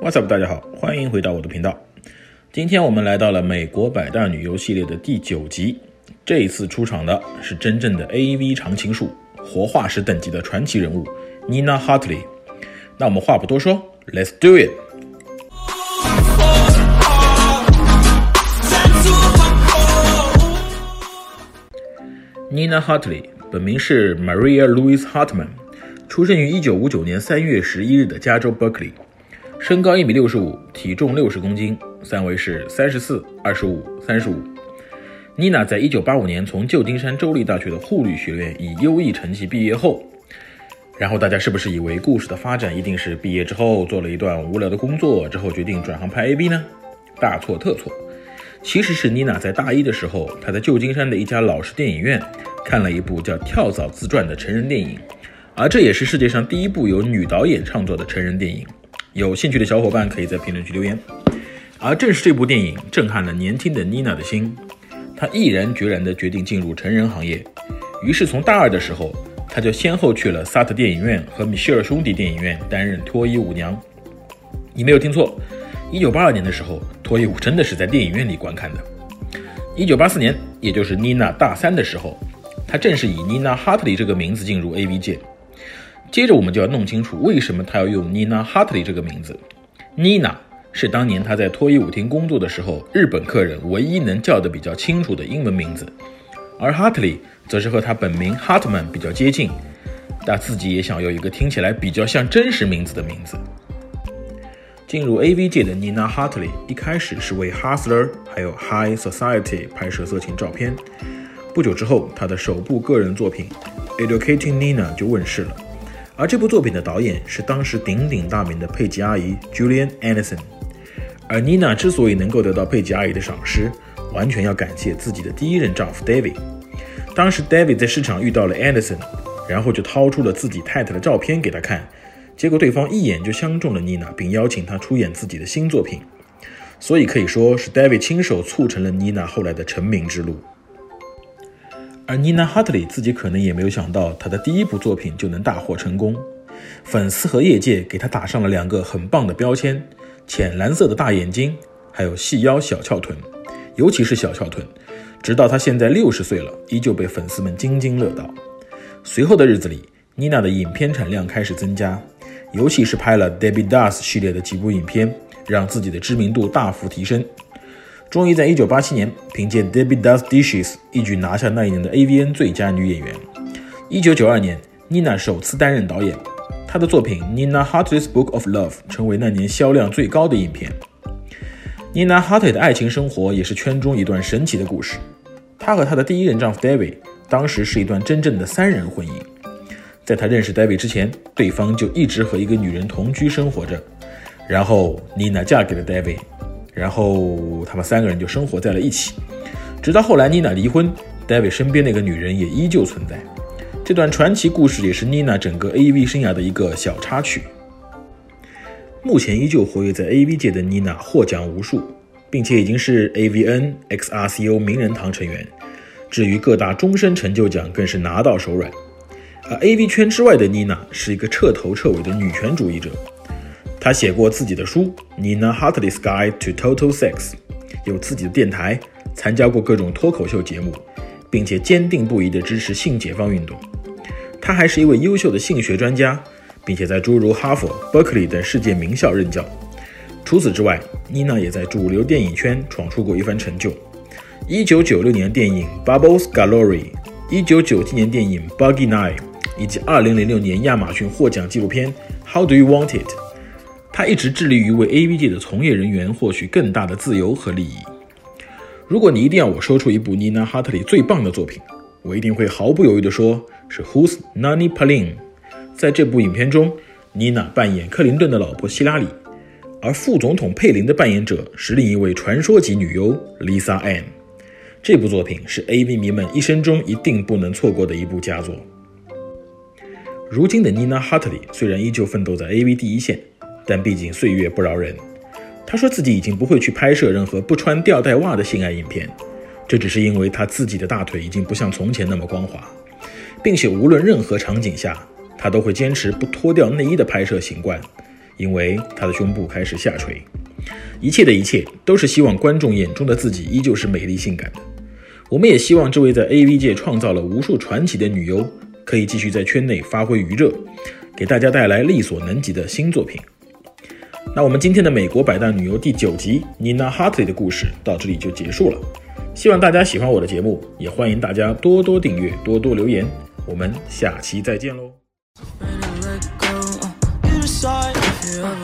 What's up， 大家好，欢迎回到我的频道。今天我们来到了美国百大女优系列的第9集，这一次出场的是真正的 AV 常青树，活化石等级的传奇人物 Nina Hartley。那我们话不多说 ，Let's do it。Nina Hartley 本名是 Maria Louise Hartman， 出生于1959年3月11日的加州 Berkeley， 身高1.65米，体重60公斤，三围是34、25、35。Nina 在1985年从旧金山州立大学的护理学院以优异成绩毕业后，然后大家是不是以为故事的发展一定是毕业之后做了一段无聊的工作，之后决定转行拍 AV 呢？大错特错。其实是 Nina 在大一的时候，她在旧金山的一家老式电影院看了一部叫《跳蚤自传》的成人电影，而这也是世界上第一部由女导演创作的成人电影。有兴趣的小伙伴可以在评论区留言。而正是这部电影震撼了年轻的 Nina 的心，她毅然决然地决定进入成人行业。于是从大二的时候，她就先后去了萨特电影院和米歇尔兄弟电影院担任脱衣舞娘。你没有听错，1982年的时候，脱衣舞真的是在电影院里观看的。1984年，也就是 Nina 大3的时候，她正是以 Nina Hartley 这个名字进入 AV 界。接着我们就要弄清楚为什么她要用 Nina Hartley 这个名字。Nina 是当年她在脱衣舞厅工作的时候，日本客人唯一能叫得比较清楚的英文名字，而 Hartley 则是和她本名 Hartman 比较接近，但自己也想要一个听起来比较像真实名字的名字。进入 AV 界的 Nina Hartley 一开始是为 Hustler 还有 High Society 拍摄色情照片，不久之后她的首部个人作品 Educating Nina 就问世了，而这部作品的导演是当时鼎鼎大名的佩吉阿姨 Julian Anderson。 而 Nina 之所以能够得到佩吉阿姨的赏识，完全要感谢自己的第一任丈夫 David。 当时 David 在市场遇到了 Anderson， 然后就掏出了自己太太的照片给他看，结果对方一眼就相中了 Nina， 并邀请她出演自己的新作品，所以可以说是 David 亲手促成了 Nina 后来的成名之路。而 Nina Hartley 自己可能也没有想到，她的第一部作品就能大获成功，粉丝和业界给她打上了2个很棒的标签：浅蓝色的大眼睛，还有细腰小翘臀，尤其是小翘臀，直到她现在60岁了，依旧被粉丝们津津乐道。随后的日子里， Nina 的影片产量开始增加，尤其是拍了 Debbie Does 系列的几部影片，让自己的知名度大幅提升。终于在1987年凭借 Debbie Does Dishes 一举拿下那一年的 AVN 最佳女演员。1992年 Nina 首次担任导演，她的作品 Nina Hartley's Book of Love 成为那年销量最高的影片。 Nina Hartley 的爱情生活也是圈中一段神奇的故事。她和她的第一任丈夫 David 当时是一段真正的3人婚姻。在她认识 David 之前，对方就一直和一个女人同居生活着，然后 Nina 嫁给了 David， 然后他们3个人就生活在了一起，直到后来 Nina 离婚， David 身边那个女人也依旧存在。这段传奇故事也是 Nina 整个 AV 生涯的一个小插曲。目前依旧活跃在 AV 界的 Nina 获奖无数，并且已经是 AVN、XRCO 名人堂成员，至于各大终身成就奖更是拿到手软。而 AV 圈之外的 Nina 是一个彻头彻尾的女权主义者。她写过自己的书 Nina Hartley's Guide to Total Sex， 有自己的电台，参加过各种脱口秀节目，并且坚定不移地支持性解放运动。她还是一位优秀的性学专家，并且在诸如哈佛、Berkeley 等世界名校任教。除此之外， Nina 也在主流电影圈闯出过一番成就。1996年电影 Bubbles Galore， 1997年电影 Buggy Night，以及2006年亚马逊获奖纪录片 How Do You Want It。 他一直致力于为 AV 界的从业人员获取更大的自由和利益。如果你一定要我说出一部 Nina Hartley 最棒的作品，我一定会毫不犹豫地说是 Who's Nani Palin。 在这部影片中， Nina 扮演克林顿的老婆希拉里，而副总统佩林的扮演者是另一位传说级女优 Lisa Ann。 这部作品是 AV 迷们一生中一定不能错过的一部佳作。如今的 Nina Hartley 虽然依旧奋斗在 AV 第一线，但毕竟岁月不饶人。她说自己已经不会去拍摄任何不穿吊带袜的性爱影片，这只是因为她自己的大腿已经不像从前那么光滑，并且无论任何场景下，她都会坚持不脱掉内衣的拍摄习惯， 因为她的胸部开始下垂。一切的一切都是希望观众眼中的自己依旧是美丽性感的。我们也希望这位在 AV 界创造了无数传奇的女优可以继续在圈内发挥余热，给大家带来力所能及的新作品。那我们今天的美国百大女优第9集 Nina Hartley 的故事到这里就结束了。希望大家喜欢我的节目，也欢迎大家多多订阅，多多留言。我们下期再见喽。